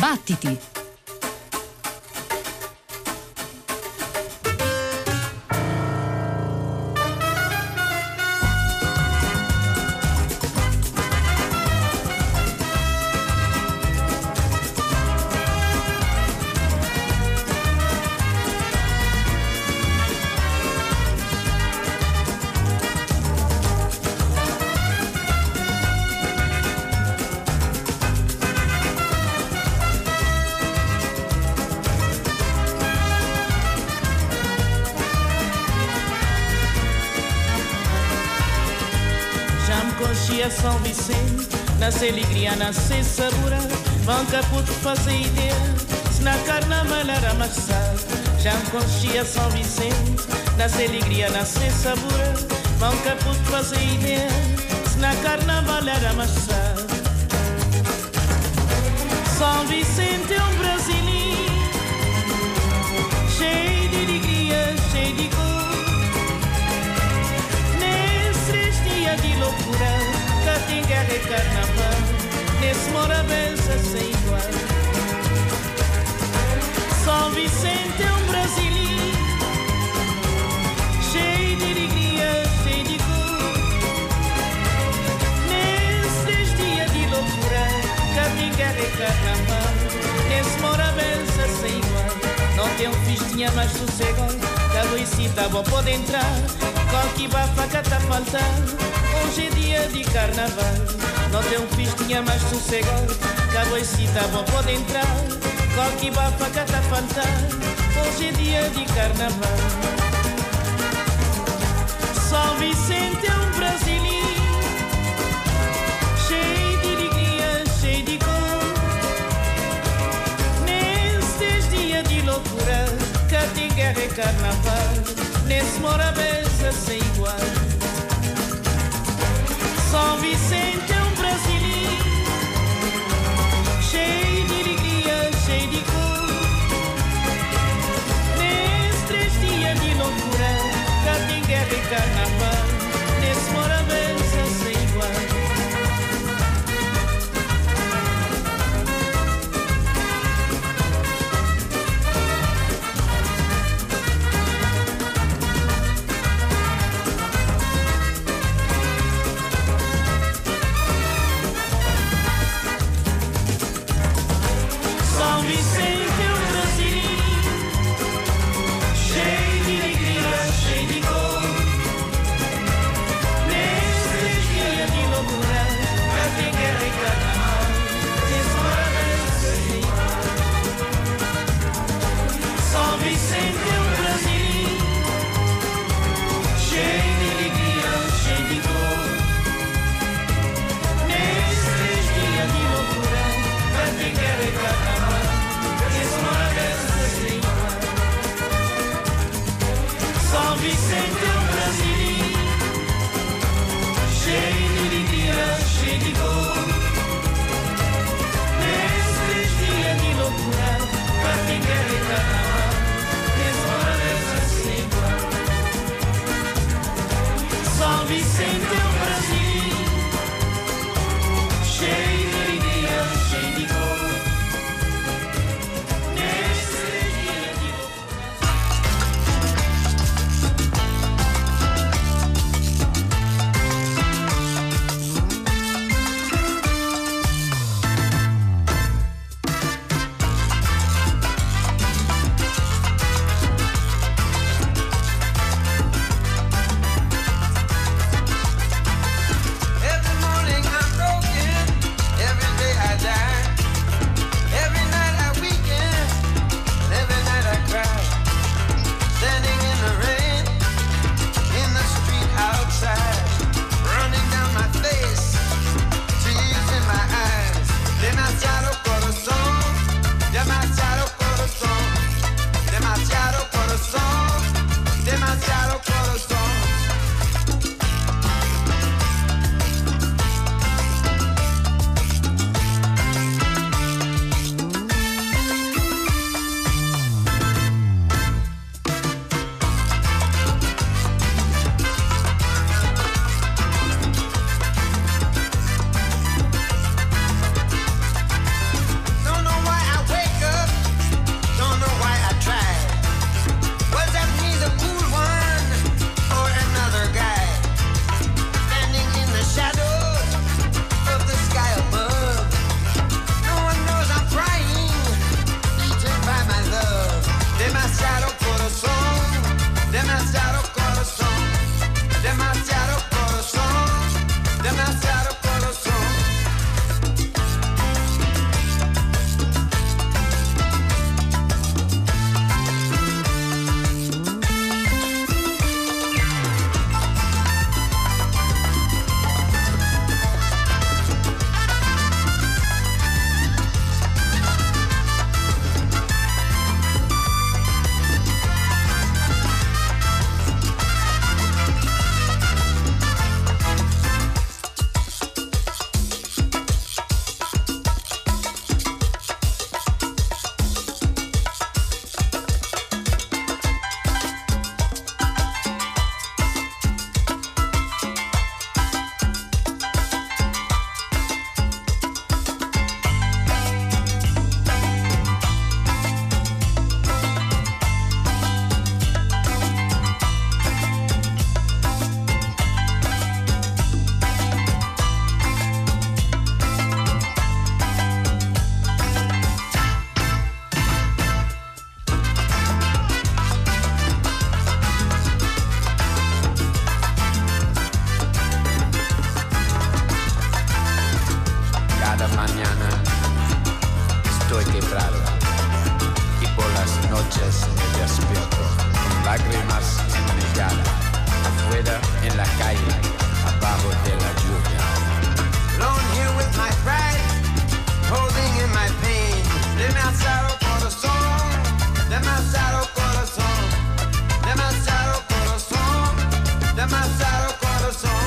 Battiti! São Vicente, nasce alegria, nasce sabor. Nunca pude fazer ideia se na carnaval era amassado. Já me conhecia São Vicente, nasce alegria, nasce sabor. Nunca pude fazer ideia se na carnaval era amassado. São Vicente é um brasileiro, cheio de alegria, cheio de cor. Nesses dias de loucura, tem guerra e carnaval, nesse Morabeza sem igual. São Vicente é um brasileiro, cheio de alegria, cheio de cor. Nesses dias de loucura, tem guerra e carnaval, nesse Morabeza sem igual. Não tem festinha mais sossegado, cada isita bom pode entrar, qualquer bafaca tá faltando. Hoje é dia de carnaval, não tem festinha mais sossegado, cada isita bom pode entrar, qualquer bafaca tá faltando. Hoje é dia de carnaval. São Vicente é um brasileiro, cheio de alegria, cheio de cor. Nesses dias de loucura, cá tem guerra e carnaval, nesse Morabeza sem igual. São Vicente é um brasileiro, cheio de alegria, cheio de cor. Nesses dias de loucura, cá tem guerra e carnaval, nesse Morabeza sem igual. amassar o coração.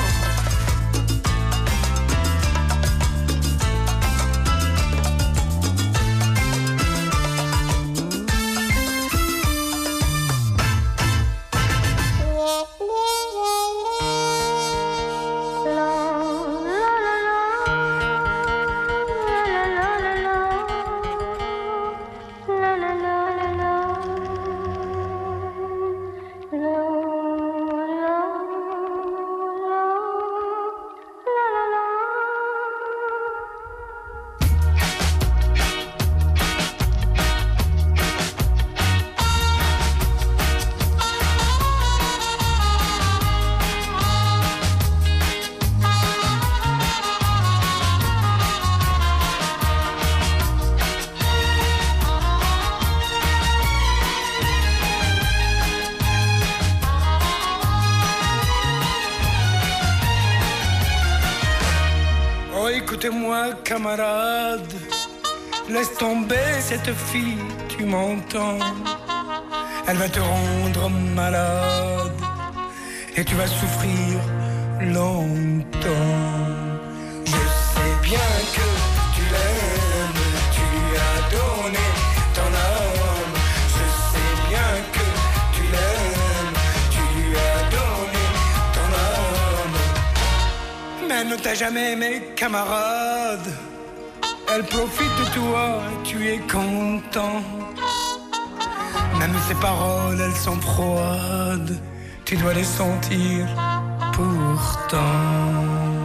Écoutez-moi, camarade, laisse tomber cette fille, tu m'entends? Elle va te rendre malade et tu vas souffrir longtemps. Je sais bien que tu l'aimes, tu lui as donné ton âme. Je sais bien que tu l'aimes, tu lui as donné ton âme. Mais elle ne t'a jamais aimé, camarade. Elle profite de toi, tu es content. Même ses paroles, elles sont froides. Tu dois les sentir pourtant.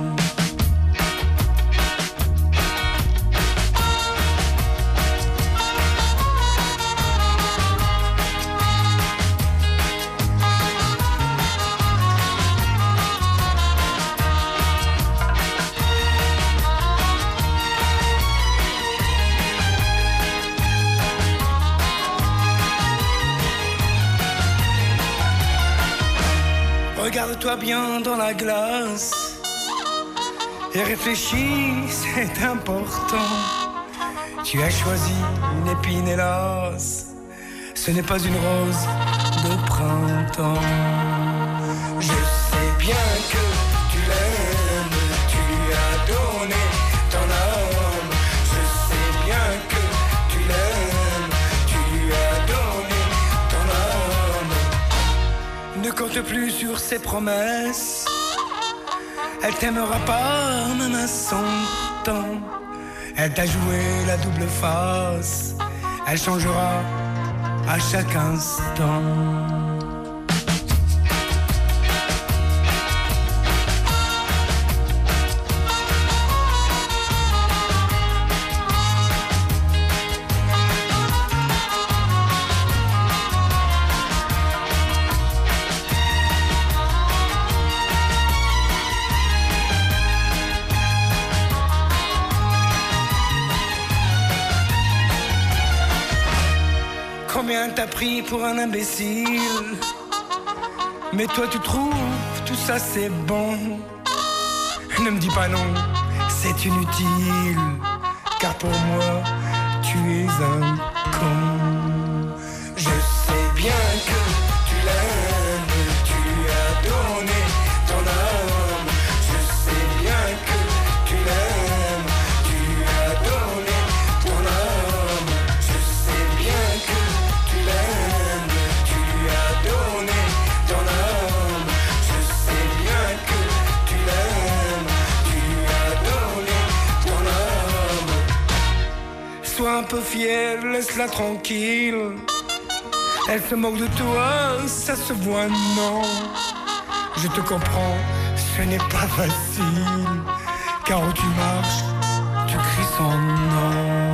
Regarde-toi bien dans la glace et réfléchis, c'est important. Tu as choisi une épine, hélas, ce n'est pas une rose de printemps. Je sais bien que tu l'aimes, tu lui as donné ton âme. Je sais bien que tu l'aimes, tu lui as donné ton âme. Ne compte plus sur ses promesses, elle t'aimera pas même à 100 ans. Elle t'a joué la double face, elle changera à chaque instant. Combien t'as pris pour un imbécile? Mais toi tu trouves tout ça c'est bon. Ne me dis pas non, c'est inutile. Car pour moi tu es un con. Je sais bien que tu l'aimes, tu lui as donné ton âme. Je sais bien que tu l'aimes, tu lui as donné ton âme. Je sais bien que tu l'aimes, tu lui as donné ton âme. Je sais bien que tu l'aimes, tu lui as donné ton âme. Sois un peu fier, laisse-la tranquille. Elle se moque de toi, ça se voit, non. Je te comprends, ce n'est pas facile. Car où tu marches, tu cries son nom.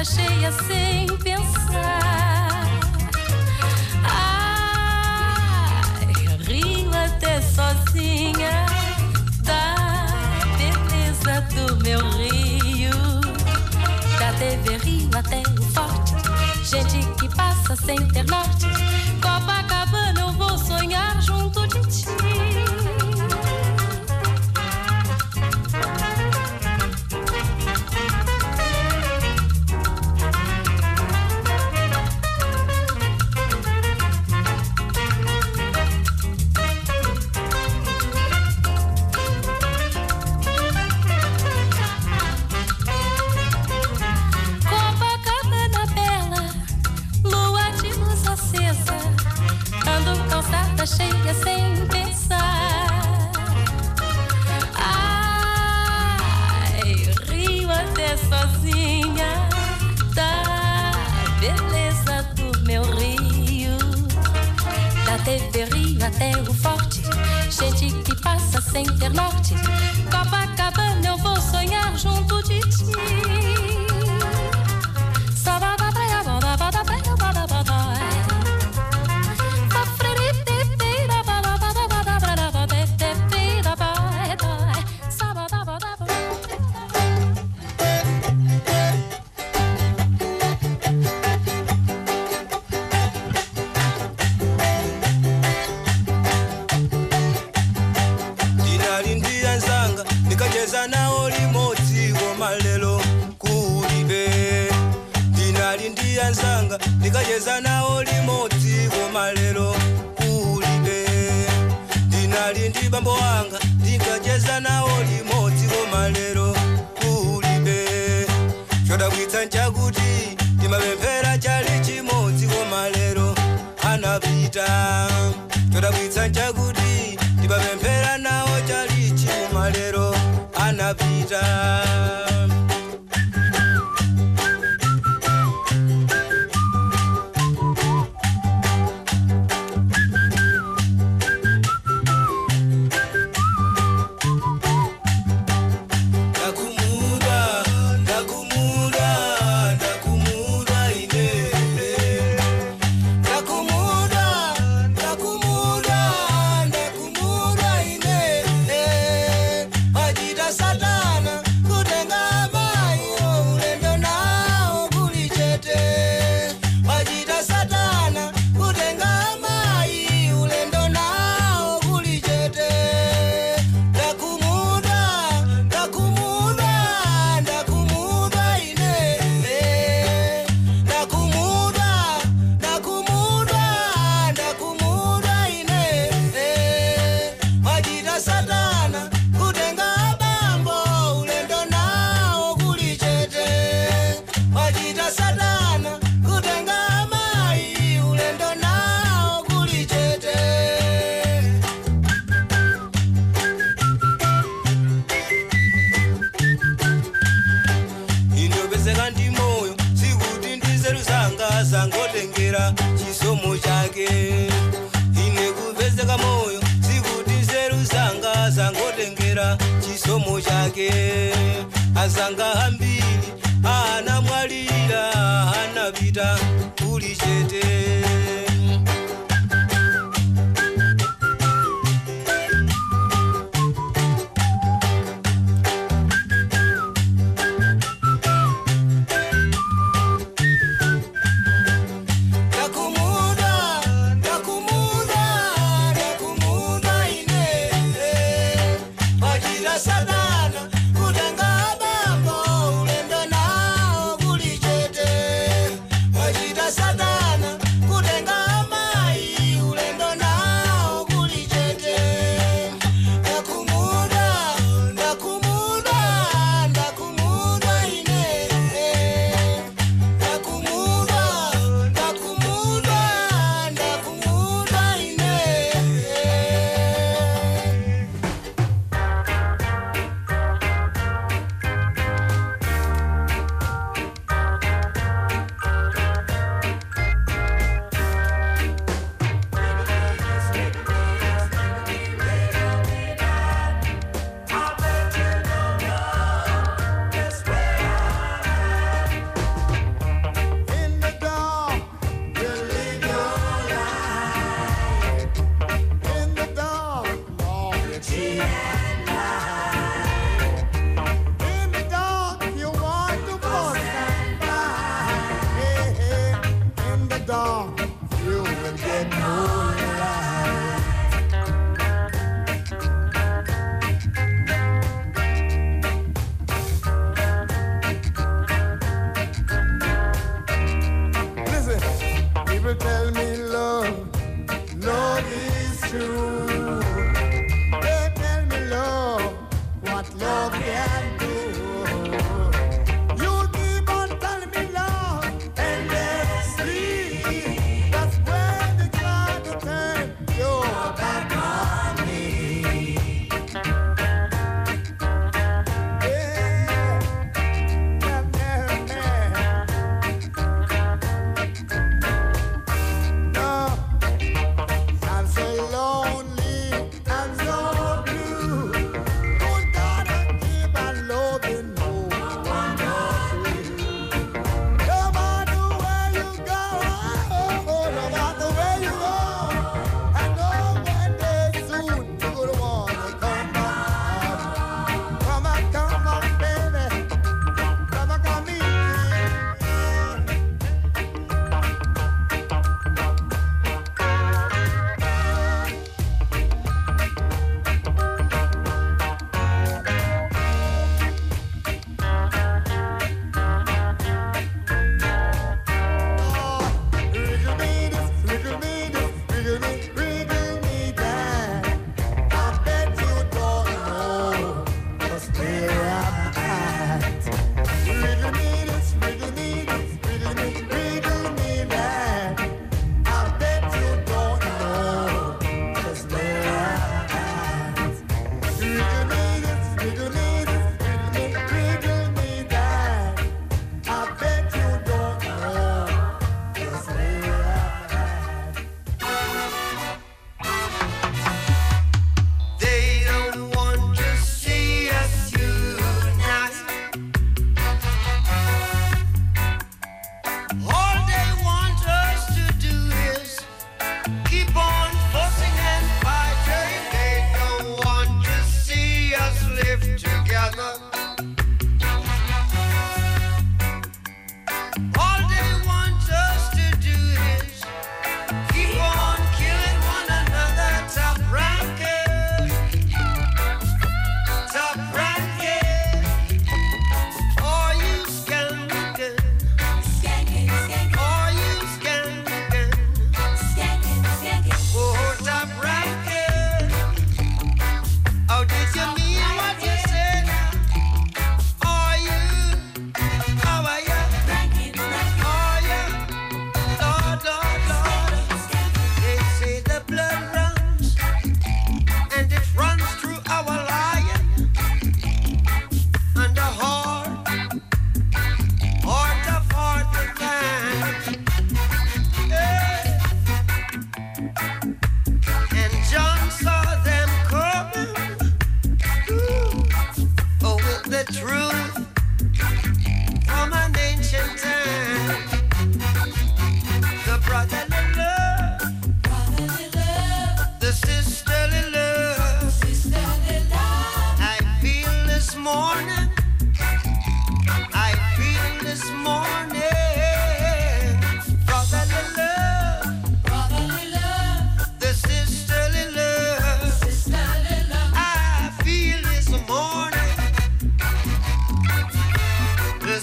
calçada cheia sem pensar. Ai, rio até sozinha da beleza do meu rio. Da TV Rio até o Forte, gente que passa sem ter norte. Copacabana eu vou sonhar junto de ti. Cheia sem pensar. Ai, rio até sozinha da beleza do meu rio. Da TV Rio até o Forte, gente que passa sem ter norte. Copacabana eu vou sonhar junto de ti. Sabada praia, bada, bada, praia, bada, bada. Nikacheza nao limodzi koma lero kulibe. Ndinali ndi bambo wanga ndikacheza nao limodzi koma lero kulibe. Chodabwitsa nchakuti timapemphera chali chimodzi koma lero anapita. Chodabwitsa nchakuti timapemphera nawo chali chikoma lero anapita. Zangotengera chisomo chake ine kuvezeka moyo sikuti nzeru zanga zangotengera chisomo chake. Azanga hambili ana mwalira anapita kuli chete. Kutenga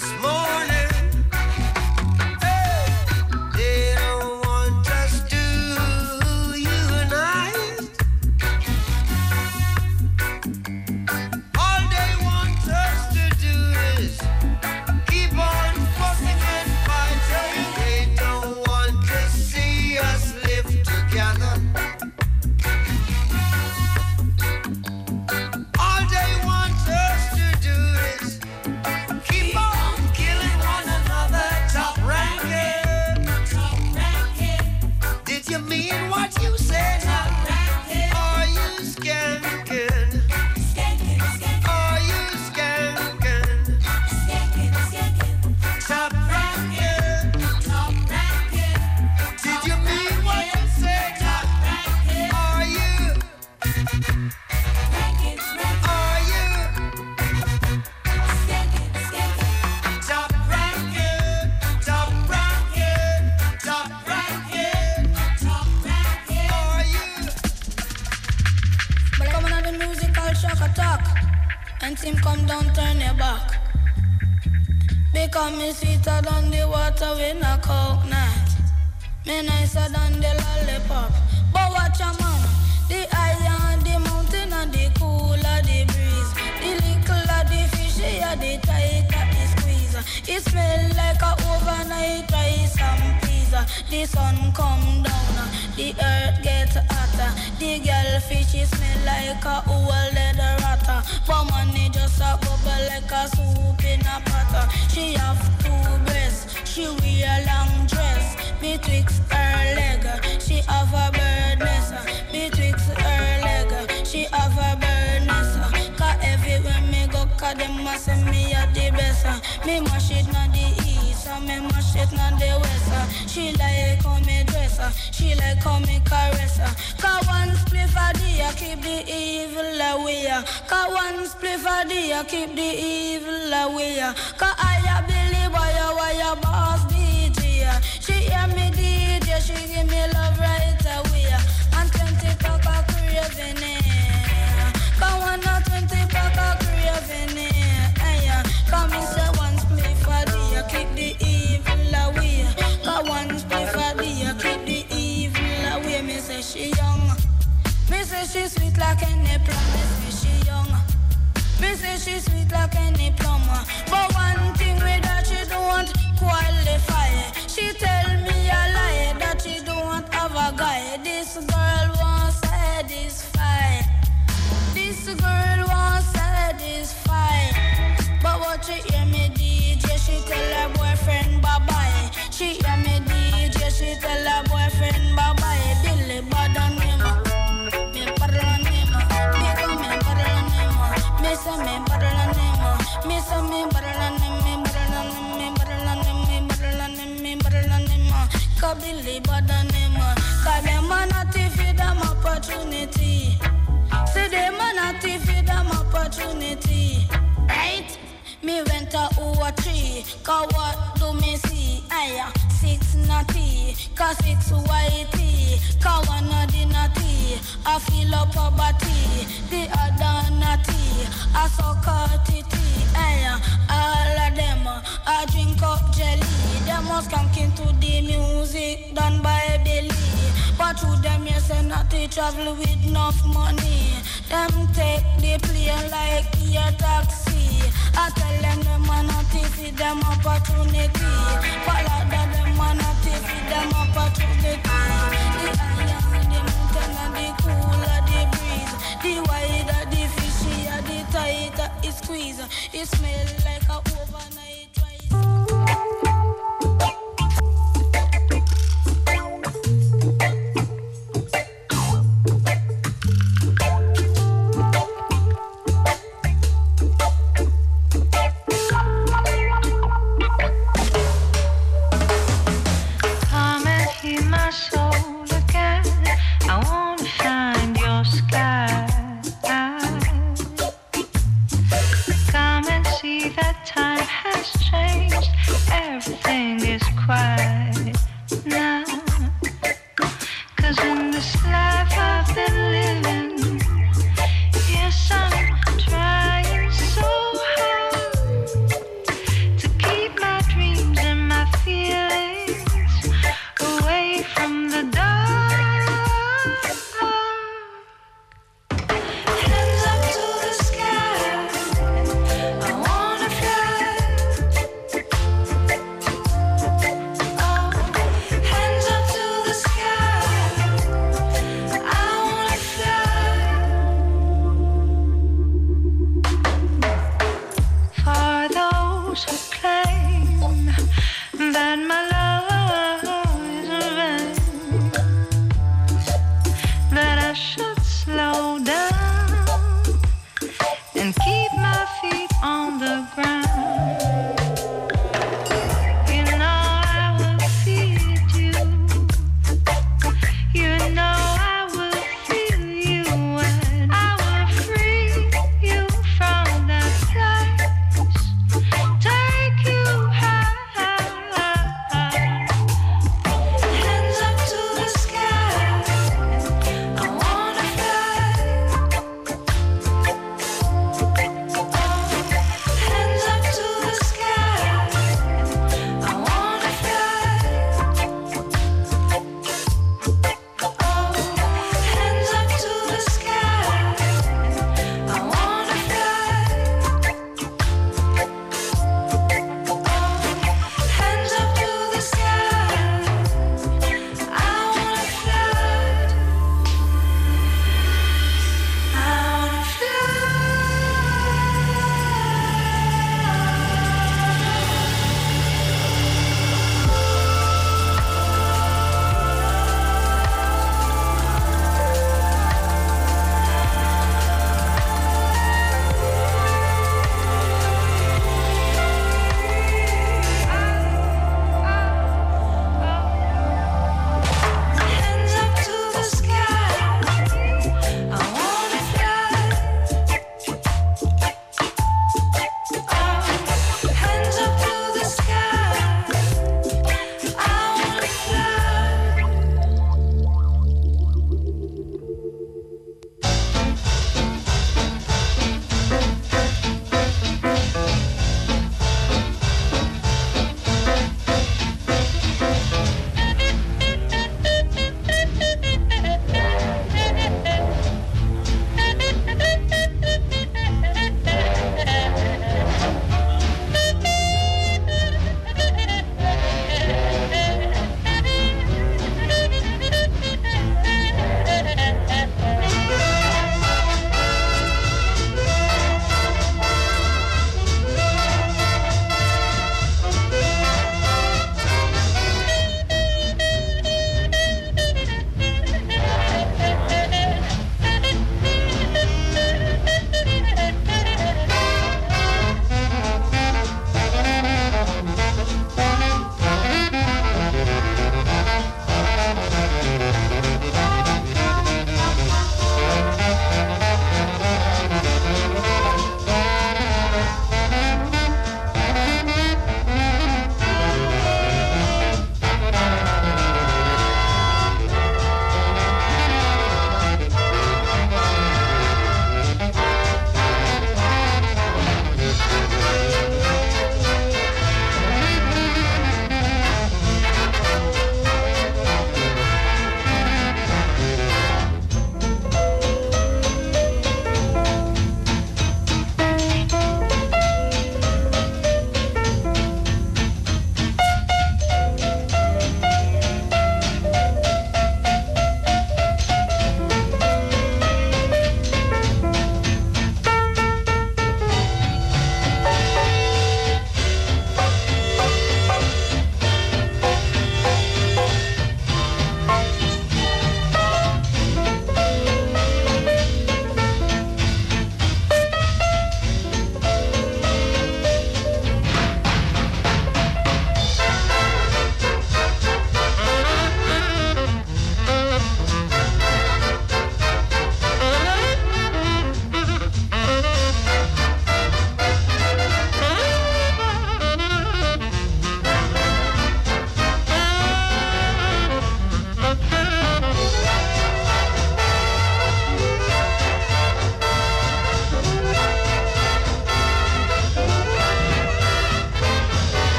this morning. They don't want us to unite. All they want us to do is keep on fussing and fighting. They don't want to see us live together. All they want us to do is keep on killing one another. Top ranking. Did you mean what you said? Are you skanking? Are you skanking? Top ranking. Did you mean what you said? Are you? Are you? Top ranking. Top ranking. Top ranking. Are you? But coming on the musical shock attack, and team come down, turn your back. Because me sweeter than the water with a coconut. Me nicer than the lollipop. But watch a man, the higher the mountain and the cooler the breeze. The littler the fishy and the tighter the squeeze. It smell like a overnight rice and pizza. The sun come down, the earth get hotter. The girl fishy smell like a old leather ratter. For money just a bubble like a soup in a pot. She have two breasts, she wear a long dress. Betwixt her leg, she have a bird nest. Betwixt her leg, she have a bird nest. Cause everywhere me go, cause them must say me a the best. Me mash it na the east, and me mash it na the west. She like how me dress, she like how me caress. Cause one spliff a day, keep the evil away. Cause one spliff a day, keep the evil away. Cause I a Billy Boy, why a boss DJ. She hear me DJ, she give me love right away. And 20 pack of craving it. Cause one or 20 pack of craving it. Come and say one spliff a day, keep the evil away. Cause one spliff a day, keep the evil away. Me say she young. Me say she sweet like any plum. Me say she young. Me say she sweet like any plum. But one thing with her, she don't qualify. She tell me a lie that she don't have a guy. This girl won't satisfy. This girl won't satisfy. But what she hear me DJ, she tell her boyfriend bye-bye. She hear me DJ, she tell her boyfriend bye-bye. Billy bad on him, me paddle on him. Because me paddle on him, me say me paddle on him. Me say me paddle on him, me paddle on him, me paddle on him, me paddle on him, me paddle on him. Cause Billy bad on him. Cause them a not feed them opportunity. See them a not feed them opportunity. Right? Me went to tree. Cause what do me see? Aya, 6 natty. Cause 6 whitey. Cause one of the natty. I feel up a body. The other natty. I suck a titty. Aya, all of them. I drink up jelly. Them was skanking to the music done by Billy. But through them yes and natty travel with enough money. Them take the plane like a taxi. I tell them a not feed them opportunity. Follow them a not feed them opportunity. The higher the mountain and the cooler the breeze. The wider the fishy and the tighter it squeeze. It smell like a overnight rice. That time claim that my love is vain, that I should slow down and keep my feet on the ground. You know I will feed you. You know I will feel you, and I will free you from that place, take you high.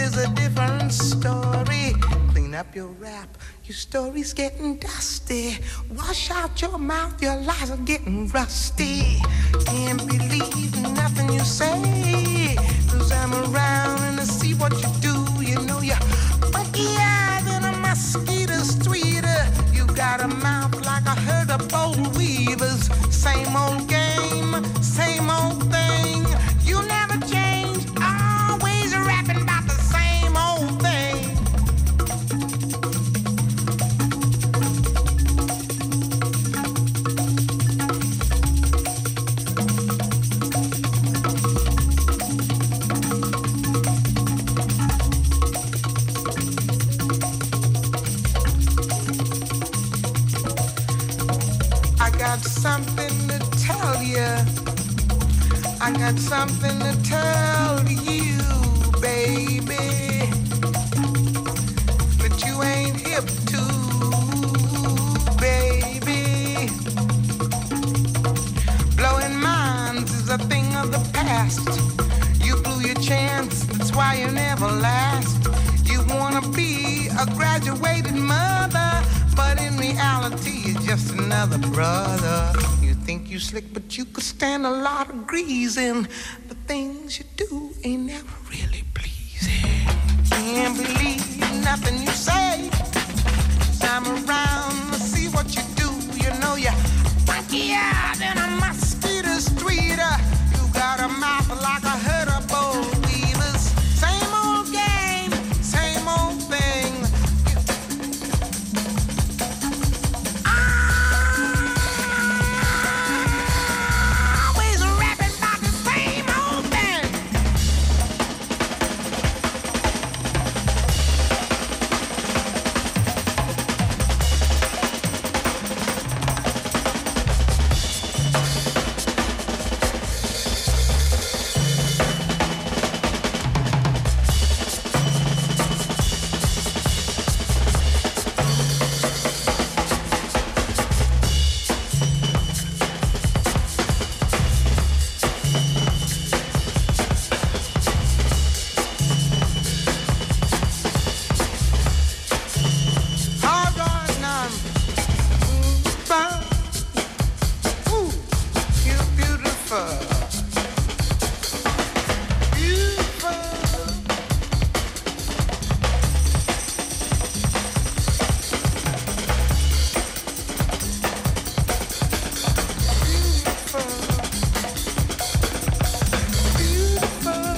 is a different story. Clean up your rap, your story's getting dusty. Wash out your mouth, your lies are getting rusty. Can't believe nothing you say, 'cause I'm around and I see what you do. You know you're funkier than a mosquito streeter. You got a mouth like a herd of bold weavers. Same old game, same old thing. You never change, always rapping about the same old thing. I got something to tell you. I got something to tell you, baby, that you ain't hip to, baby. Blowing minds is a thing of the past. You blew your chance, that's why you never last. You wanna be a graduated mother, but in reality you're just another brother. You think you slick, but you could stand a lot of greasing. The things you do ain't never really pleasing. Can't believe nothing you say. 'Cause I'm around to see what you do. You know you're funkier than a mosquito streeter. You got a mouth like a herd of bold weavers. Same old game, same old thing. Always rapping about the same old thing. All right now. Ooh, you're beautiful. Beautiful. Beautiful.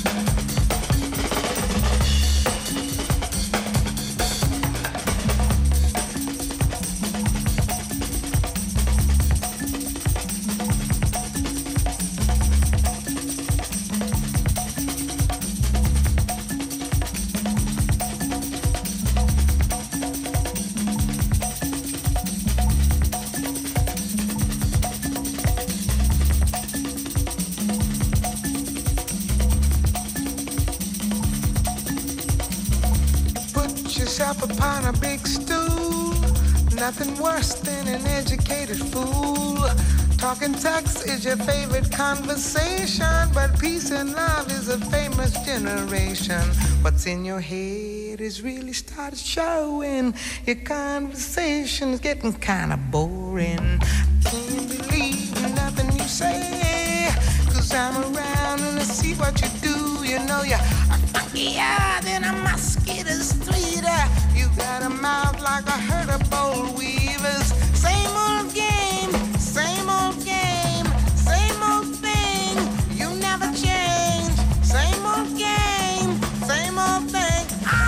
Put yourself upon a big stool. Nothing worse than an educated fool. Talking sex is your favorite conversation, but peace and love is a famous generation. What's in your head is really started showing. Your conversation is getting kind of boring. Can't believe nothing you say, 'cause I'm around and I see what you do. You know you're funkier than a mosquito streeter. You got a mouth like a herd of bold weavers. Same old game, same old game, same old thing. You never change. Same old game, same old thing.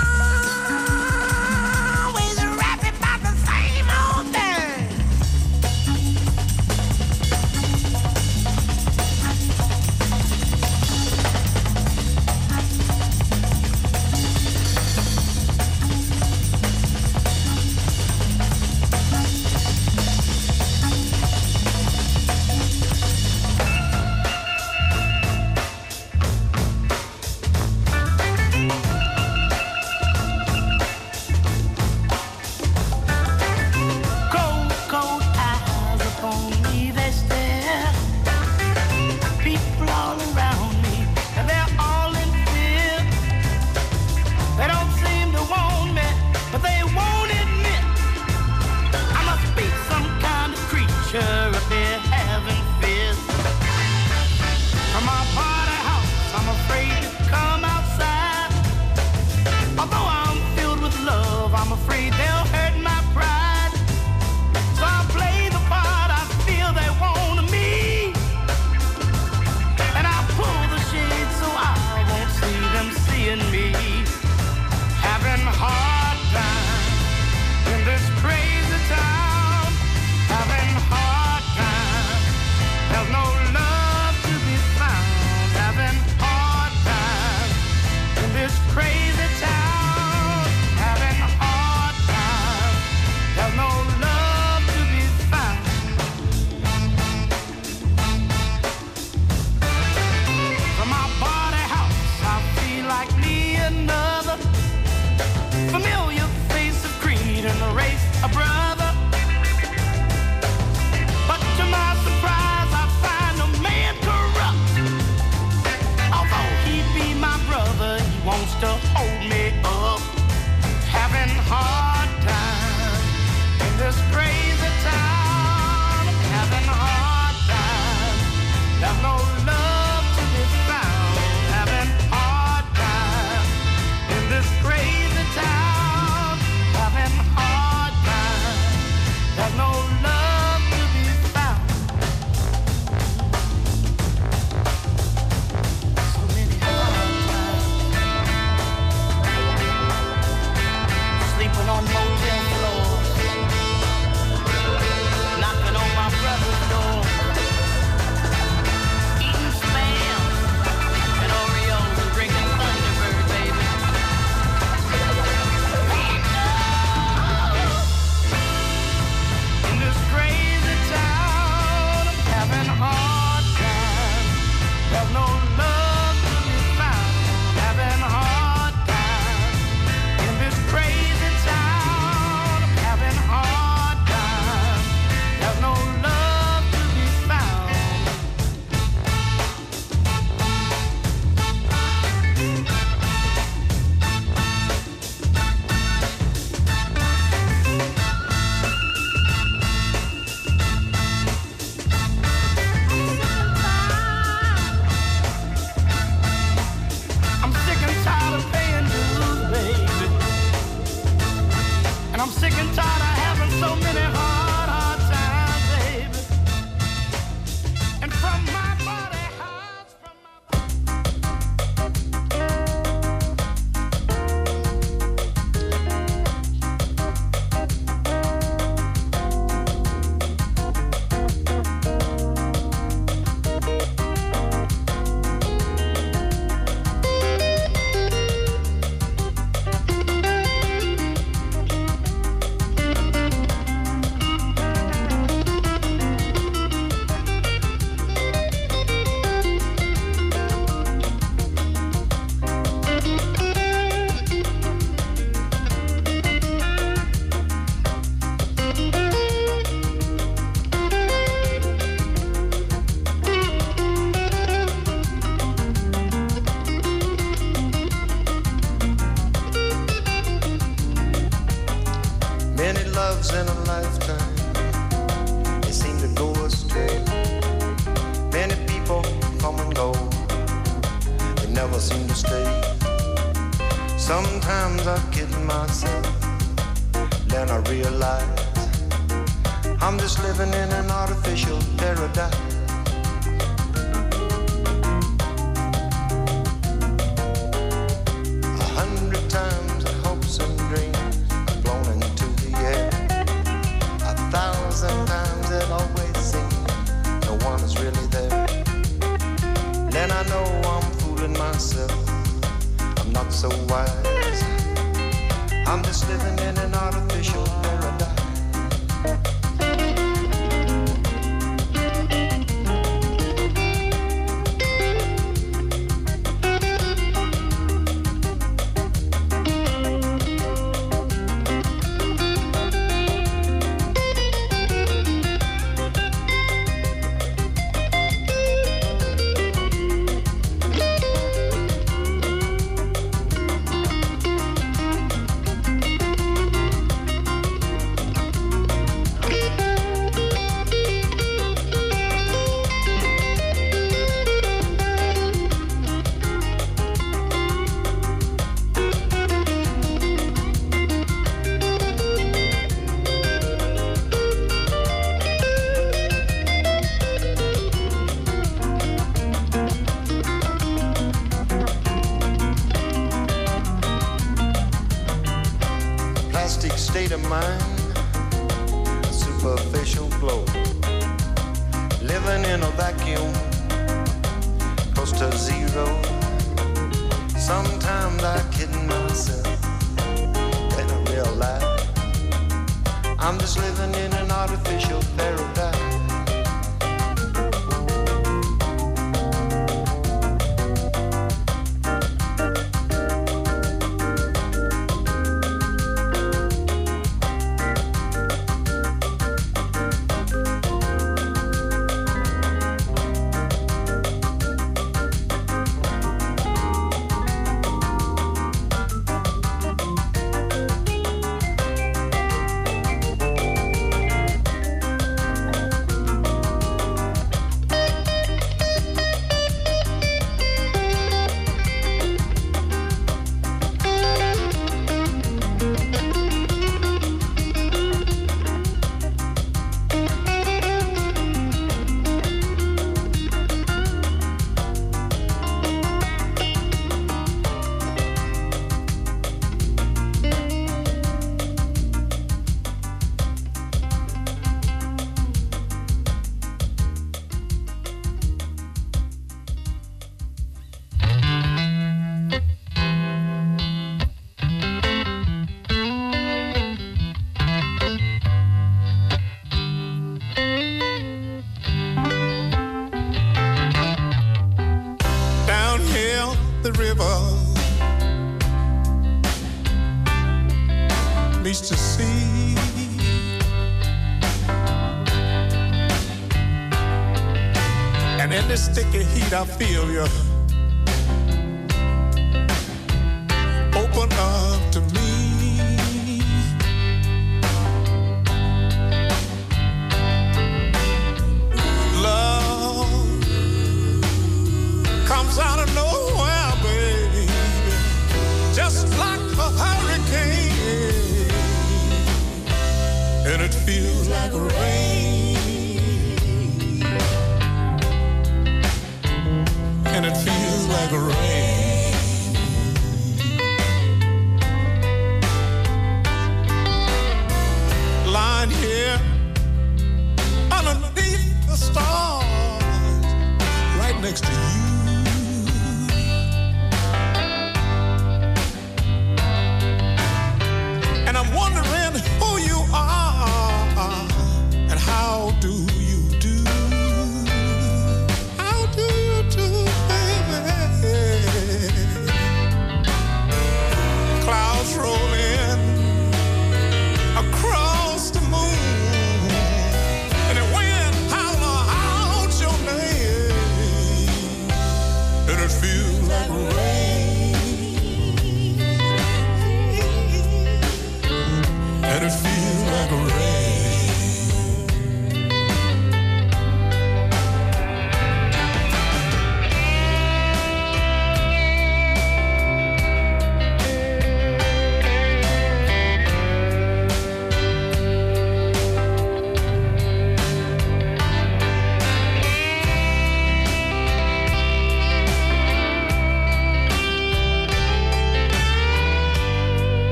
Always rapping about the same old thing. loves in a lifetime, they seem to go astray. Many people come and go, they never seem to stay. Sometimes I kid myself, then I realize I'm just living in an artificial paradise. Times the hopes and dreams have flown into the air. 1,000 times it always seems no one is really there. Then I know I'm fooling myself, I'm not so wise. I'm just living in an artificial paradise. State of mind, a superficial glow, living in a vacuum, close to zero. Sometimes I kid myself, then I realize I'm just living in an artificial paradise. I feel you open up to me. Love comes out of nowhere, baby, just like a hurricane, and it feels like rain. And it feels like rain. Lying here underneath the stars, right next to you. And I'm wondering who you are and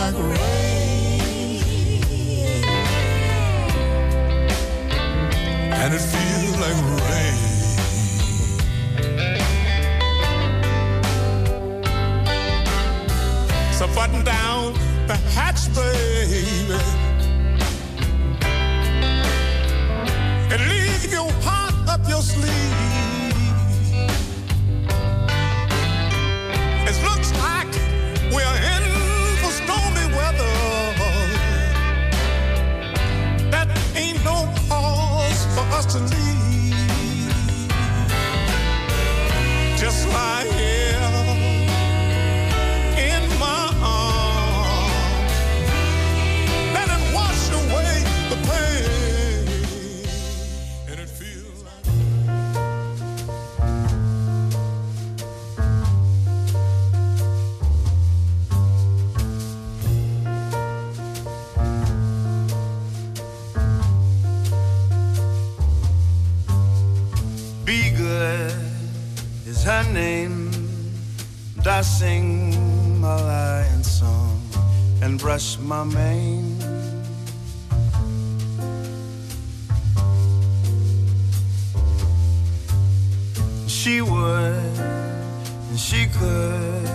like rain, and it feels like rain. So button down the hatch, baby, and leave your heart up your sleeve. It looks like we're in for stormy weather. That ain't no cause for us to leave. Just lie here in my arms, let it wash away the pain, and it feels like Be good is her name. And I sing my lion song and brush my mane. She would and she could,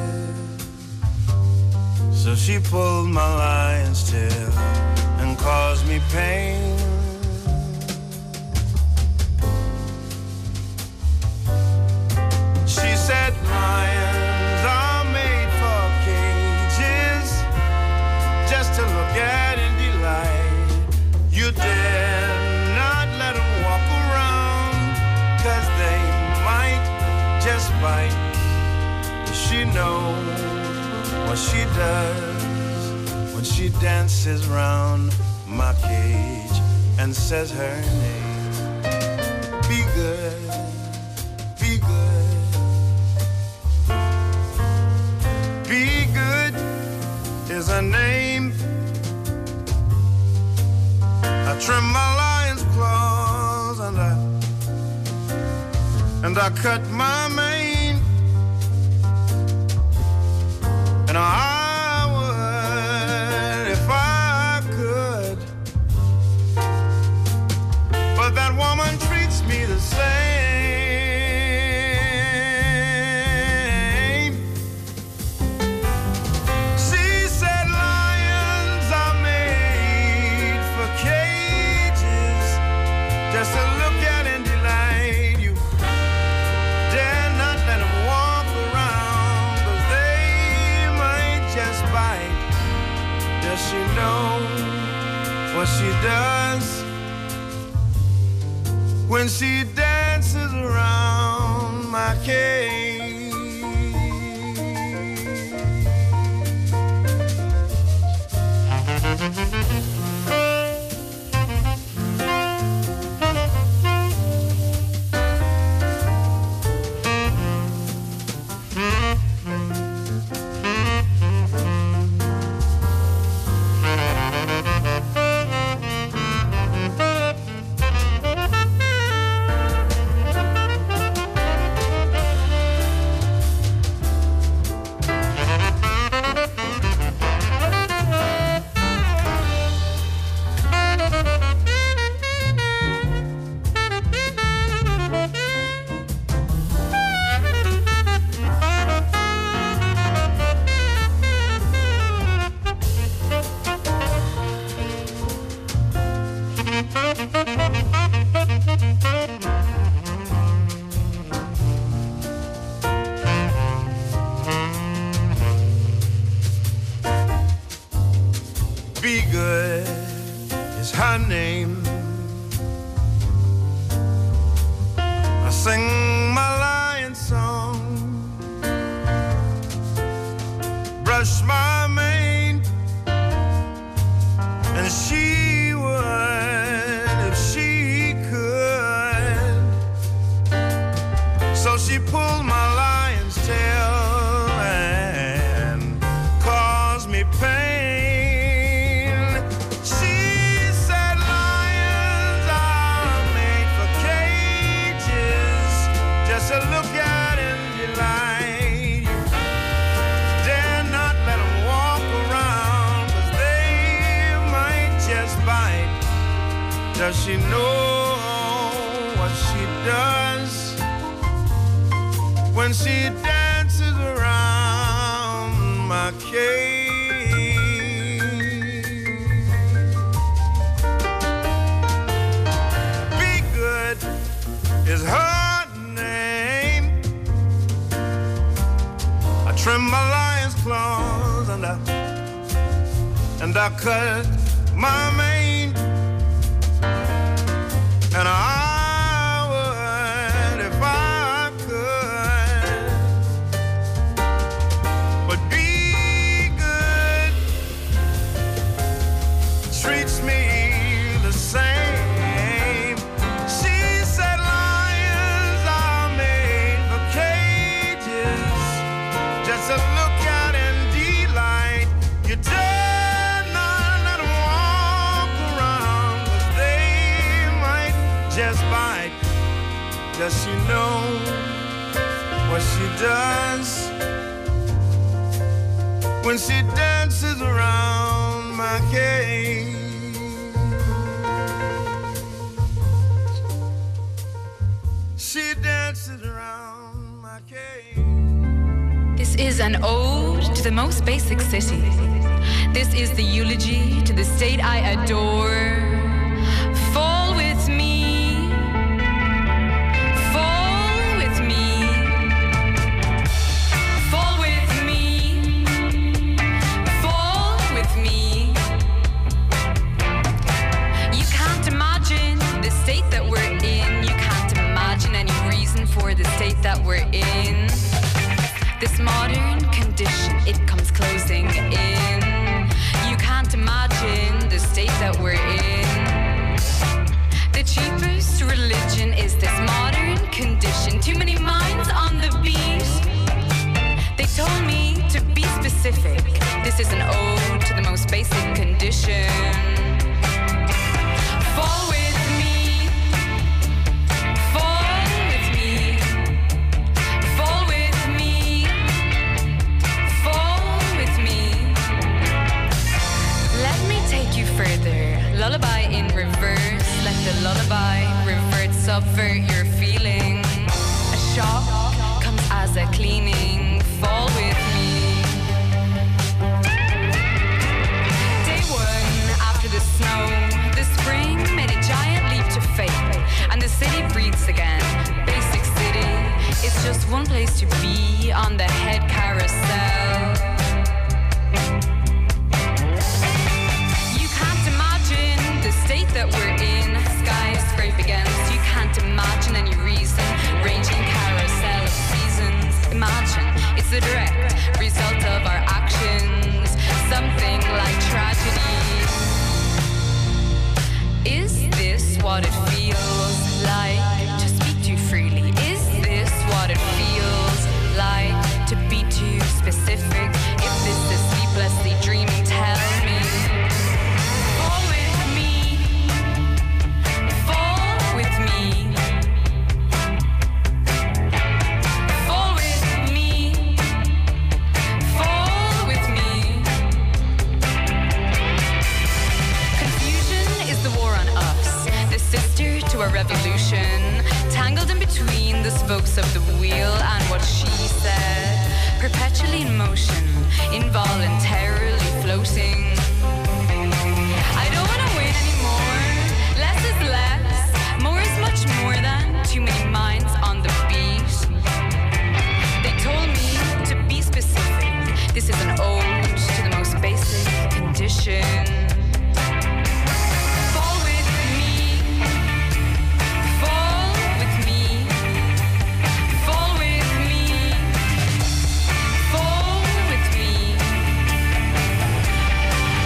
so she pulled my lion's tail and caused me pain. She said lions are made for cages, just to look at and delight. You dare not let them walk around, 'cause they might just bite. She knows what she does when she dances round my cage and says her name. Be good, be good. Be good is her name. I trim my lion's claws and I cut my mane, and I would if I could, but that woman treats me the same. She said lions are made for cages, just to look at and delight. You dare not let them walk around, 'cause they might just bite. Does she know what she does when she dances around my cage? Be good is her name. I sing my lion song, brush my mane, and she would if she could, so she pulled my lion's tail and caused me pain. To look at and delight. Dare not let them Does she know what she does when she dances around my cage? Be Good is her name. I trim my lion's claws and I cut my mane, and I would if I could. But Be Good treats me the same. She said lions are made for cages, just to look at and delight. You dare not let 'em walk around, 'cause they might just bite. Does she know what she does when she dances around my cage? She dances around my cage. This is an ode to the most basic city. This is the eulogy to the state I adore. Fall with me. Fall with me. Fall with me. Fall with me. You can't imagine the state that we're in. You can't imagine any reason for the state that we're in. This modern condition, it comes closing in. You can't imagine the state that we're in. The cheapest religion is this modern condition. Too many minds on the beat. They told me to be specific. This is an ode to the most basic condition. Fall with me. Fall with me. Fall with me. Fall with me. Let me take you further. Lullaby in reverse. Let the lullaby revert, subvert your feeling. A shock comes as a cleaning. Fall with me. Day one after the snow, the spring made a giant leap to faith, and the city breathes again. Basic city, it's just one place to be on the head carousel. You can't imagine the state that we're in. Skies scrape against. You can't imagine any reason. Ranging carousel of seasons. Imagine it's the direct result of our actions. Something like tragedy. Is this what it feels like to speak too freely? Is this what it feels like to be too specific? If this is sleeplessly dreaming, tell me. Fall with me. Fall with me. Fall with me. Fall with me. Confusion is the war on us, the sister to a revolution, tangled in between the spokes of the wheel and what she said, perpetually in motion, involuntarily floating. I don't want to win anymore. Less is less. More is much more than too many minds on the beat. They told me to be specific. This is an ode to the most basic condition. Fall with me. Fall with me. Fall with me. Fall with me.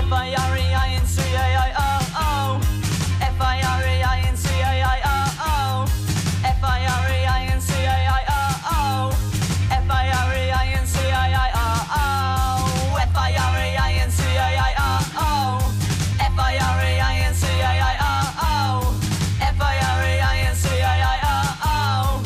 F-I-R-E-I-N-C-A-I-O-O, F-I-R-E-I-N-C-A-I-O-O, F-I-R-E-I-N-C-A-I-O-O, F-I-R-E-I-N-C-A-I-O-O, F-I-R-E-I-N-C-A-I-O-O, F-I-R-E-I-N-C-A-I-O-O, F-I-R-E-I-N-C-A-I-O-O,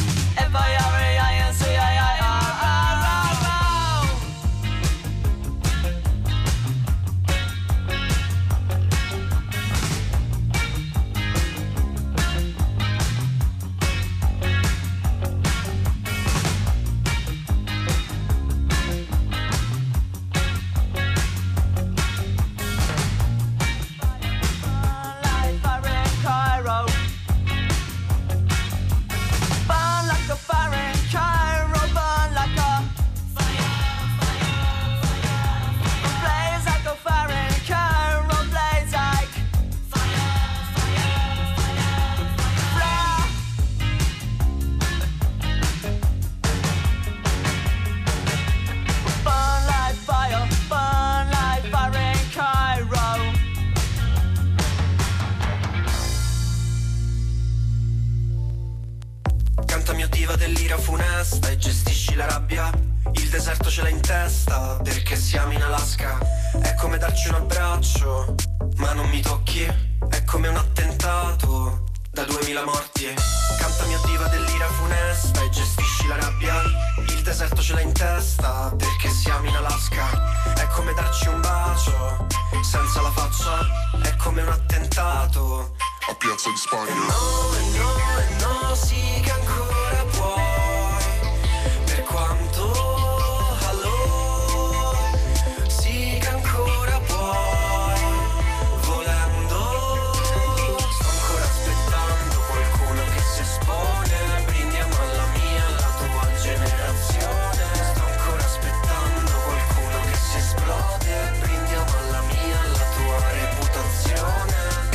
diva dell'ira funesta e gestisci la rabbia. Il deserto ce l'hai in testa perché siamo in Alaska. È come darci un abbraccio, ma non mi tocchi. È come un attentato da 2000 morti. Canta mia diva dell'ira funesta e gestisci la rabbia. Il deserto ce l'hai in testa perché siamo in Alaska. È come darci un bacio senza la faccia. È come un attentato a Piazza di Spagna. No, sì che ancora puoi. Per quanto allora, sì che ancora puoi. Volendo, sto ancora aspettando qualcuno che si espone. Brindiamo alla mia, alla tua generazione. Sto ancora aspettando qualcuno che si esplode. Brindiamo alla mia, alla tua reputazione.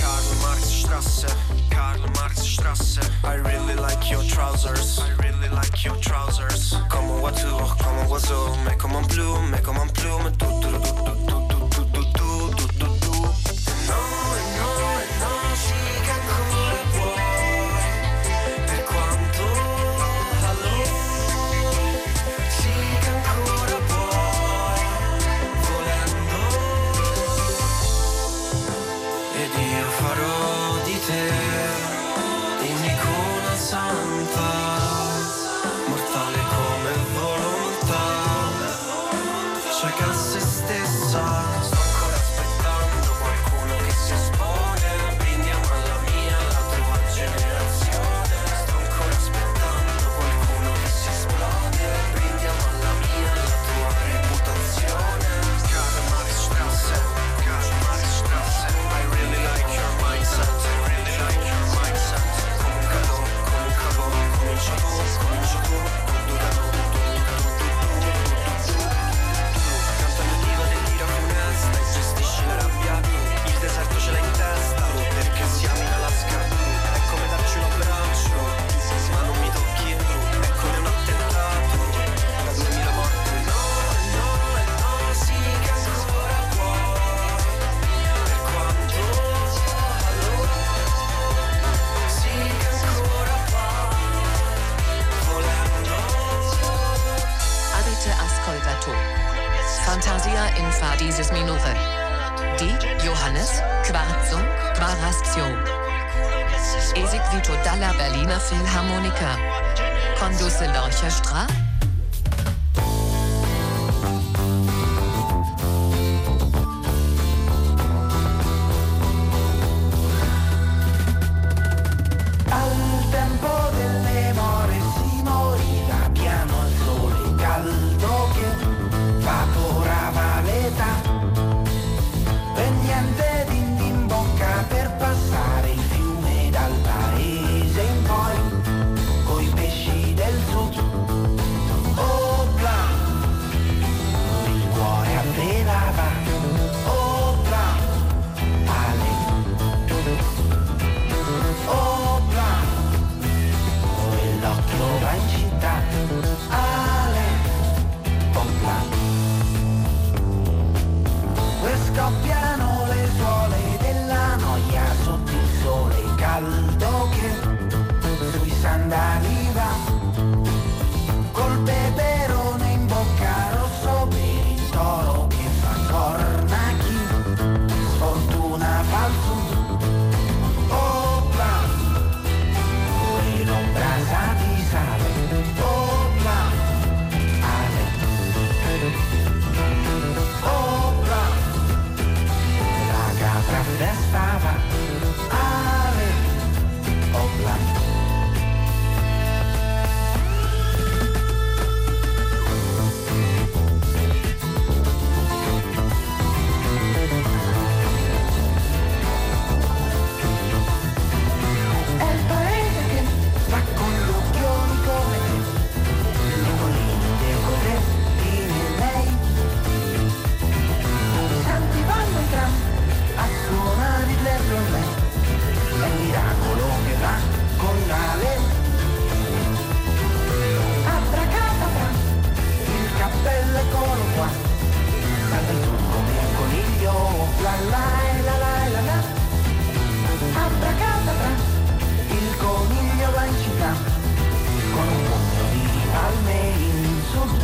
Karl Marx Strasse. I really like your trousers. I really like your trousers. Comme un voiture, comme un oiseau. Mais comme un plume, mais comme un plume. No, sì che ancora puoi. Per quanto allora, sì che ancora puoi. Volendo, ed io farò di te un'icona santa, mortale come volontà, cieca a se stessa. Sto ancora aspettando qualcuno che si espone. Brindiamo alla mia, alla tua generazione. Sto ancora aspettando qualcuno che si esplode. Brindiamo alla mia, alla tua reputazione. Karl Marx Strasse, Karl Marx Strasse. I really like your mindset, I really like your mindset. Comincia tu, canta mia diva dell'ira funesta e gestisci la rabbia. Il deserto ce l'hai in testa perché siamo in Alaska. È come darci un abbraccio, ma non mi tocchi. È come un attentato da 2000 morti. No, sì che ancora puoi. Per quanto allora, sì che ancora Avete ascoltato Fantasia in fa dieses Minore di Johannes Quarazzo, eseguito dalla Berliner Philharmonica, condusse l'orchestra al tempo delle more si moriva piano al sole caldo che vaporava l'età e niente in bocca per passare il fiume dal paese in poi coi pesci del sud. Opla, il cuore avvelava. Opla, Ale. Opla, l'occhio va in città, Ale, opla, e scoppiano caldo che sui sandali va, col peperone in bocca rosso per il toro che fa corna, chi sfortuna fa il sud. Opla, pure l'ombra sa di sale. Opla, ale. Opla, la capra festava. Ale, opla. È un miracolo che va con l'ale. Abracadabra, il cappello eccolo qua, salta giù come un coniglio, la la la la la la. Abracadabra, il coniglio va in città, con un pugno di palme in su.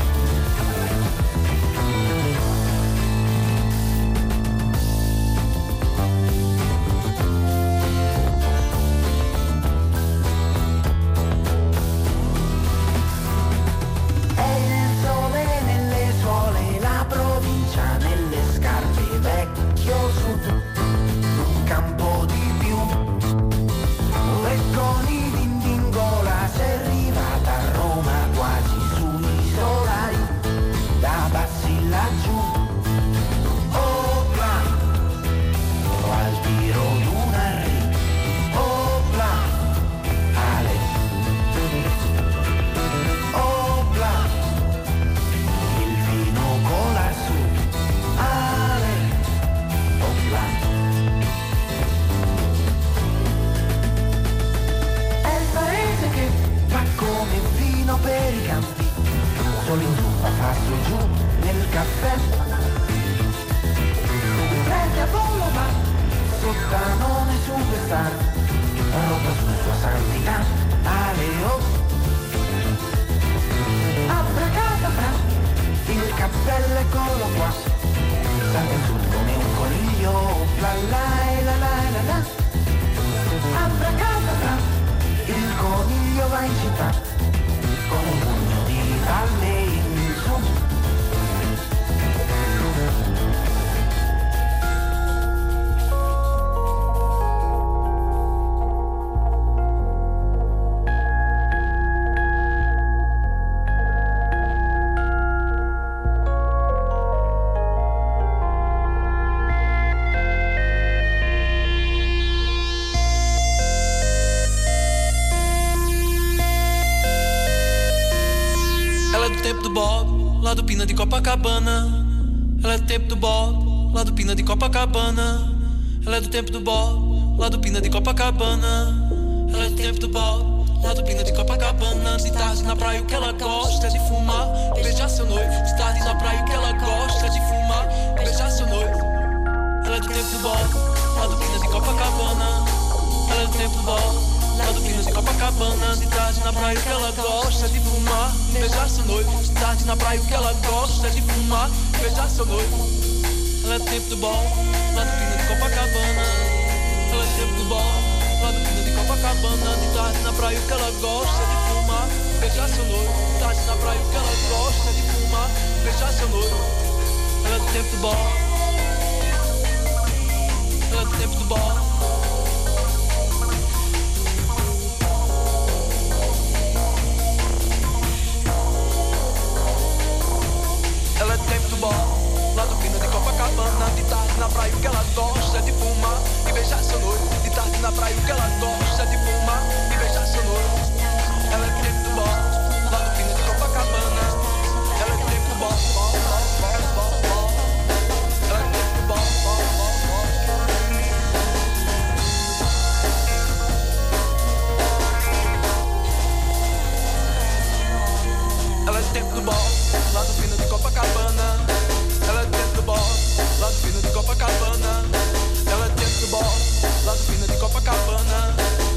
Pina de Copacabana. Ela é do tempo do Bob, lá do Pina de Copacabana. Ela é do tempo do Bob, lá do Pina de Copacabana. Ela é do tempo do Bob, lá do Pina de Copacabana. De tarde na praia o que ela gosta é de fumar, beijar seu noivo. De tarde na praia o que ela gosta é de fumar, beijar seu noivo. Ela é do tempo do Bob, lá do Pina de Copacabana. Ela é do tempo do Bob, lá do Pina de Copacabana. De tarde na praia o que ela gosta é de fumar, beijar seu noivo. De tarde na praia o que ela gosta é de fumar, beijar seu noivo. Ela é do tempo do bom, lá do Pina de Copacabana. Ela é do tempo do bom, lá do Pina de Copacabana. De tarde na praia o que ela gosta é de fumar, beijar seu noivo. De tarde na praia o que ela gosta é de fumar, beijar seu noivo. Ela é do tempo do bom, ela é do tempo do bom. Ela é do tempo do bom, lá do Pina de Copacabana. De tarde na praia o que ela gosta é de fumar e beijar seu noivo. De tarde na praia o que ela gosta é de fumar e beijar seu noivo. Ela é do tempo do bom, lá do Pina de Copacabana. Ela é do tempo do bom, ela é do tempo do bom. Ela é do tempo do bom, lá do Pina de Copacabana. Ela é do tempo do bom, lá do Pina de Copacabana. Ela é do tempo do bom, lá do Pina de Copacabana.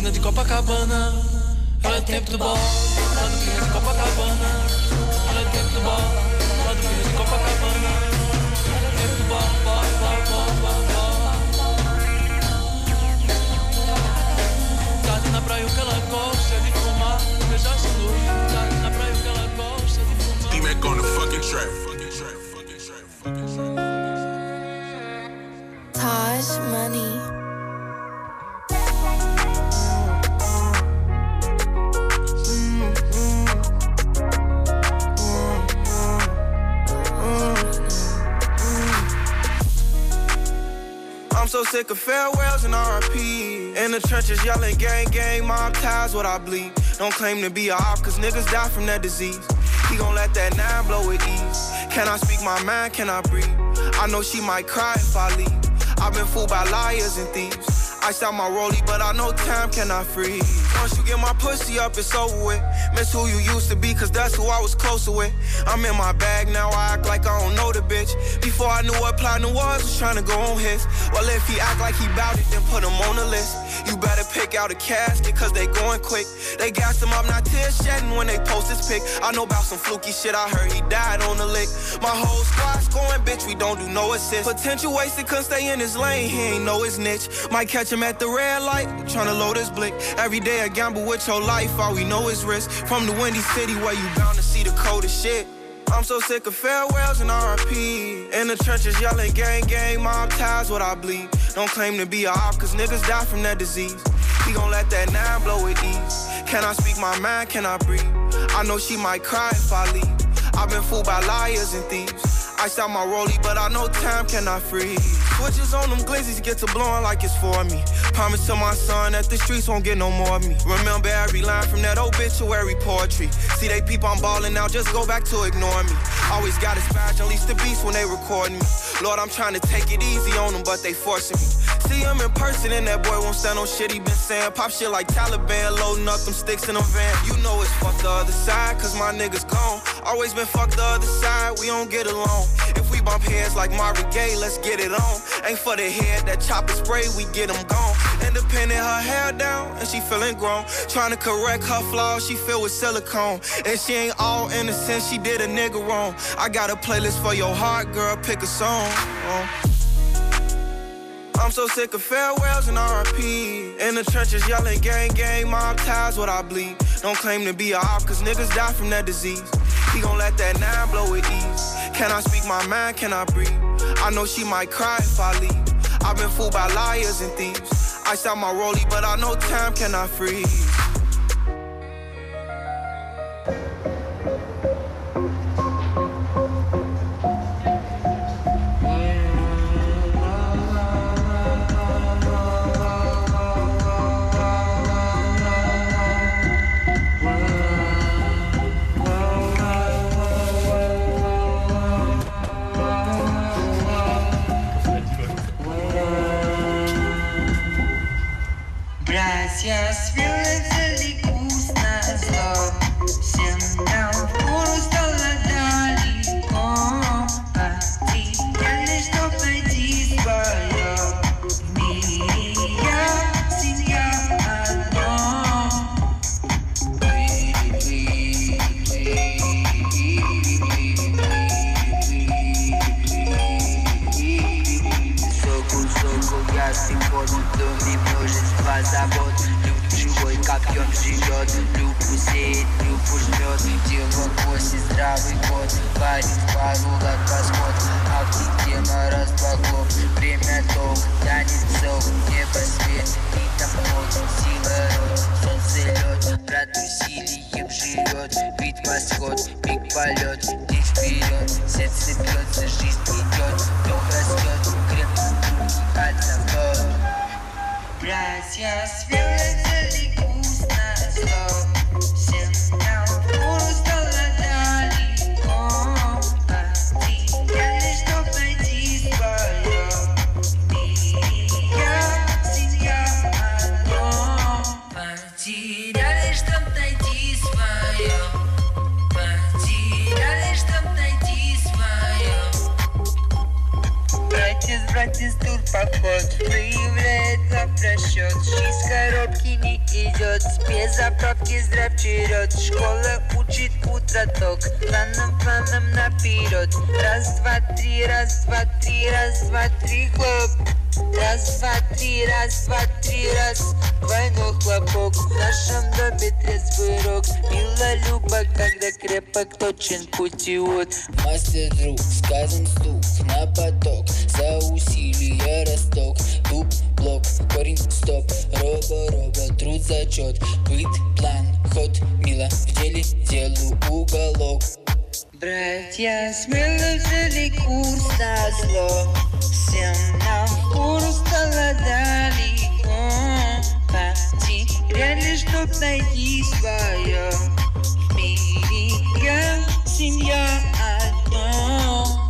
Pina de Copacabana. Ela é tempo do bol, lá do Pina de Copacabana. Ela é tempo do bol, lá do Pina de Copacabana. Ela é tempo do bol, bol, bol, bol, bol, bol. Tá ali na praia o que ela gosta de fumar, beijar essa luz. Tá ali na praia o que ela gosta de fumar. D-Mac on the fucking track. Taj Money. I'm so sick of farewells and RIP. In the trenches yelling gang, gang, mob ties, what I bleed. Don't claim to be a op, cause niggas die from that disease. He gon' let that 9 blow with ease. Can I speak my mind, can I breathe? I know she might cry if I leave. I've been fooled by liars and thieves. Iced out my rollie, but I know time cannot freeze. Once you get my pussy up, it's over with. Miss who you used to be, cause that's who I was closer with. I'm in my bag now, I act like I don't know the bitch. Before I knew what platinum was trying to go on his. Well, if he act like he bout it, then put him on the list. You better pick out a casket, cause they going quick. They gassed him up, not tears shedding when they post his pic. I know about some fluky shit, I heard he died on the lick. My whole squad scoring, bitch, we don't do no assist. Potential wasted, couldn't stay in his lane, he ain't know his niche. Might catch him at the red light, tryna load his blick. Every day a gamble with your life, all we know is risk. From the windy city where you bound to see the coldest shit. I'm so sick of farewells and RIP. In the trenches yelling gang, gang, mob ties, what I bleed. Don't claim to be a op, cause niggas die from that disease. He gon' let that 9 blow with ease. Can I speak my mind, can I breathe? I know she might cry if I leave. I've been fooled by liars and thieves. Iced out my rollie, but I know time cannot freeze. Switches on them glizzies get to blowing like it's for me. Promise to my son that the streets won't get no more of me. Remember every line from that obituary poetry. See they peep I'm ballin' now, just go back to ignoring me. Always got a scratch, unleash the beast when they record me. Lord, I'm trying to take it easy on them, but they forcing me. See him in person and that boy won't stand on shit he been saying. Pop shit like Taliban, loading up them sticks in a van. You know it's fuck the other side, cause my niggas gone. Always been fuck the other side, we don't get along. If we bump heads like Marvin Gaye, let's get it on. Ain't for the head, that chopper spray, we get them gone. Independent, her hair down, and she feeling grown. Trying to correct her flaws, she filled with silicone. And she ain't all innocent, she did a nigga wrong. I got a playlist for your heart, girl, pick a song. I'm so sick of farewells and RIP. In the trenches yelling gang, gang, mob ties, what I bleed. Don't claim to be a op, cause niggas die from that disease. He gon' let that 9 blow with ease. Can I speak my mind, can I breathe? I know she might cry if I leave. I've been fooled by liars and thieves. Iced out my rollie, but I know time cannot freeze. Братья связали вкусно зло, всем нам впору стало далеко. Потеряли, что пойти свое. В мире я, семья одно. Соку, ясный год, в доме множество забот. Люд живой, как пьем живет. Любу сеет, любу жмет. Дело коси, здравый год. Парень пару лак восход. Автотема разбогов. Время долг, танец зов. Небо свет, и там ночь. Сила рот, солнце лед. Брат усилием живет. Вид восход, пик полет. День вперед, сердце бьется, жизнь идет. Дом растет, крепкие руки от забот. Братья связали вкусно зло, всем нам впору стало далеко. Потеряли, что пойти свое. В мире я, семья одно. Потеряли, чтоб найти свое. Потеряли, чтоб найти свое. Братец, тур поход, проявляет на просчет. Жизнь коробки вперед. Школа учит утроток, планом наперед. Раз, два, три, раз, два, три, раз, два, три, хлоп. Раз, два, три, раз, два, три, раз. Двойной хлопок. В нашем доме трезвый рок. Мила Люба, когда крепок, точен путевод. Мастер друг, сказан стук на поток. За усилия росток. Дуб, блок, корень, стоп. Роба, труд, зачет. Быт, план, ход, мило. В деле делу уголок. Братья смело взяли курс на зло. Всем нам курс стало далеко. Потеряли, чтоб найти свое. В мире я, семья одно.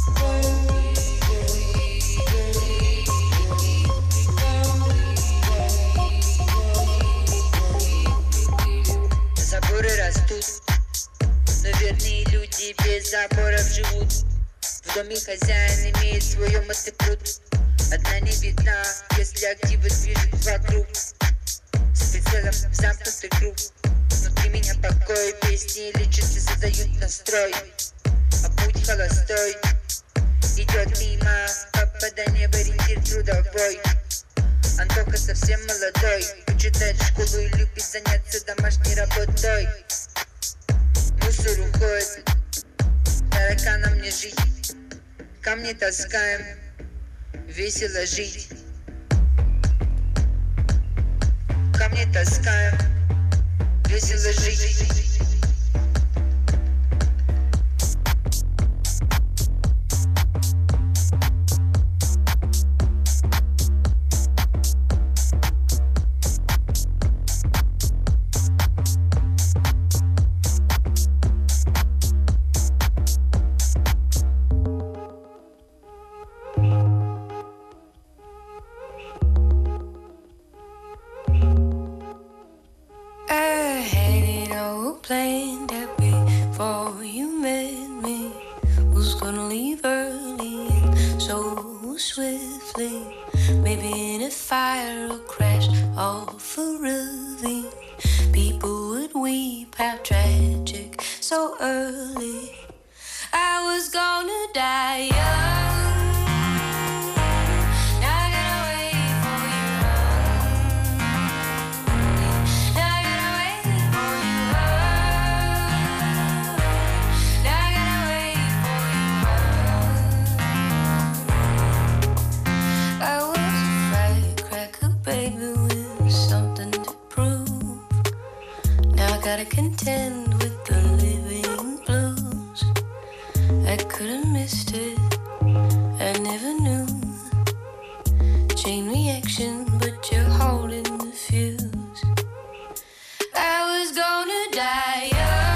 Заборы растут, но верные люди без заборов живут. В доме хозяин имеет свое мотопруд. Одна не видна, если активы движут вокруг. С прицелом в замкнутый круг. Внутри меня покой, песни лечат и задают настрой. А путь холостой идет мимо, попадание в ориентир трудовой. Антоха совсем молодой, учитает школу и любит заняться домашней работой. Мусор уходит, тараканам не жить. Камни таскаем, весело жить. Камни таскаем, весело жить. Plane that before you met me was gonna leave early and so swiftly. Maybe in a fire or crash off a ravine, people would weep, how tragic, so early. I was gonna die young. Gotta contend with the living blues. I could've missed it, I never knew. Chain reaction, but you're holding the fuse. I was gonna die young.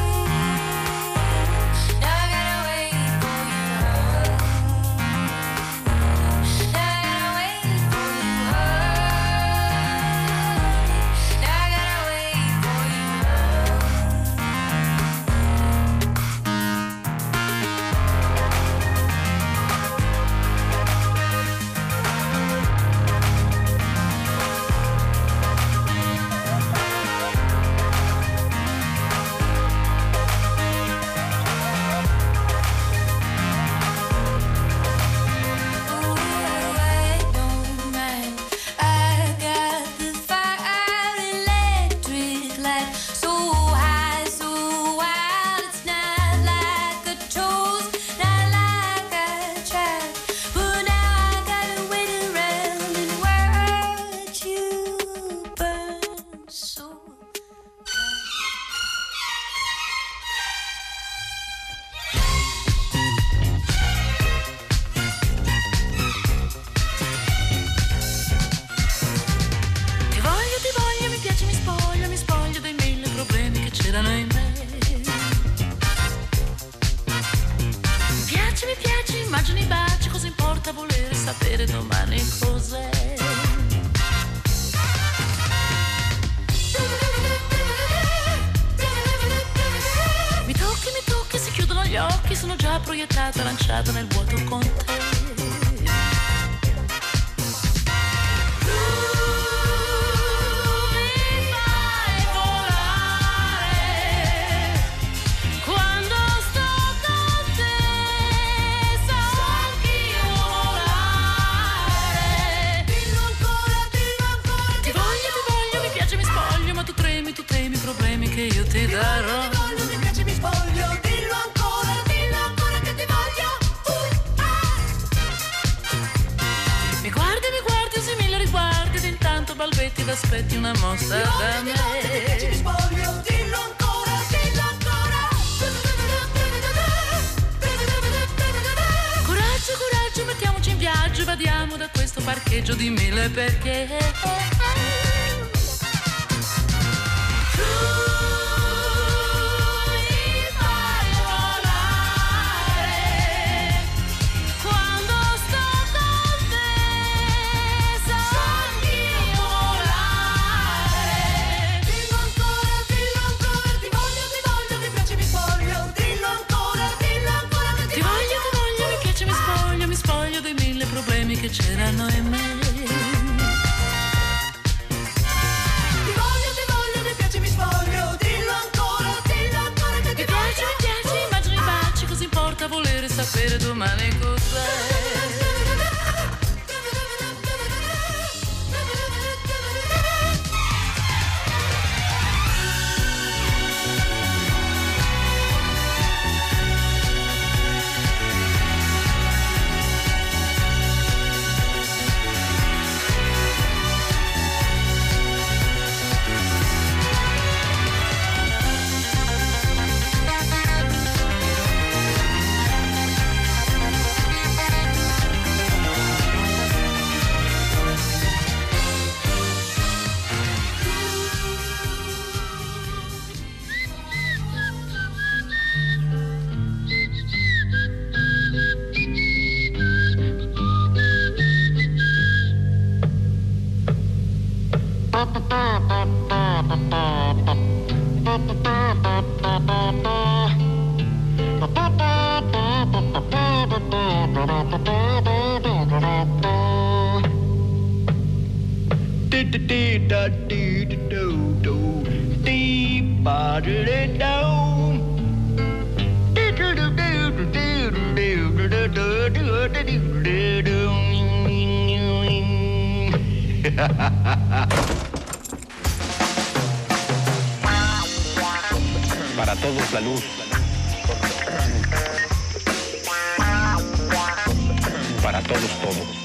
sapere domani cos'è. Mi tocchi, si chiudono gli occhi, sono già proiettata, lanciata nel vuoto con te. Mi fai volare che io ti darò. Ti voglio, mi piace, mi spoglio, dillo ancora che ti voglio. Mi guardi, usi mille riguardi ed intanto balbetti ed aspetti una mossa da me. Ti voglio, mi piace, mi spoglio, dillo ancora, dillo ancora. Coraggio, coraggio, mettiamoci in viaggio, vadiamo da questo parcheggio di mille perché. Che c'erano in me. Ti voglio, mi piace, mi spoglio, dillo ancora che ti voglio. Mi piace, immagini i baci, cosa importa volere sapere domani cos'è. Para todos la luz. Para todos todo.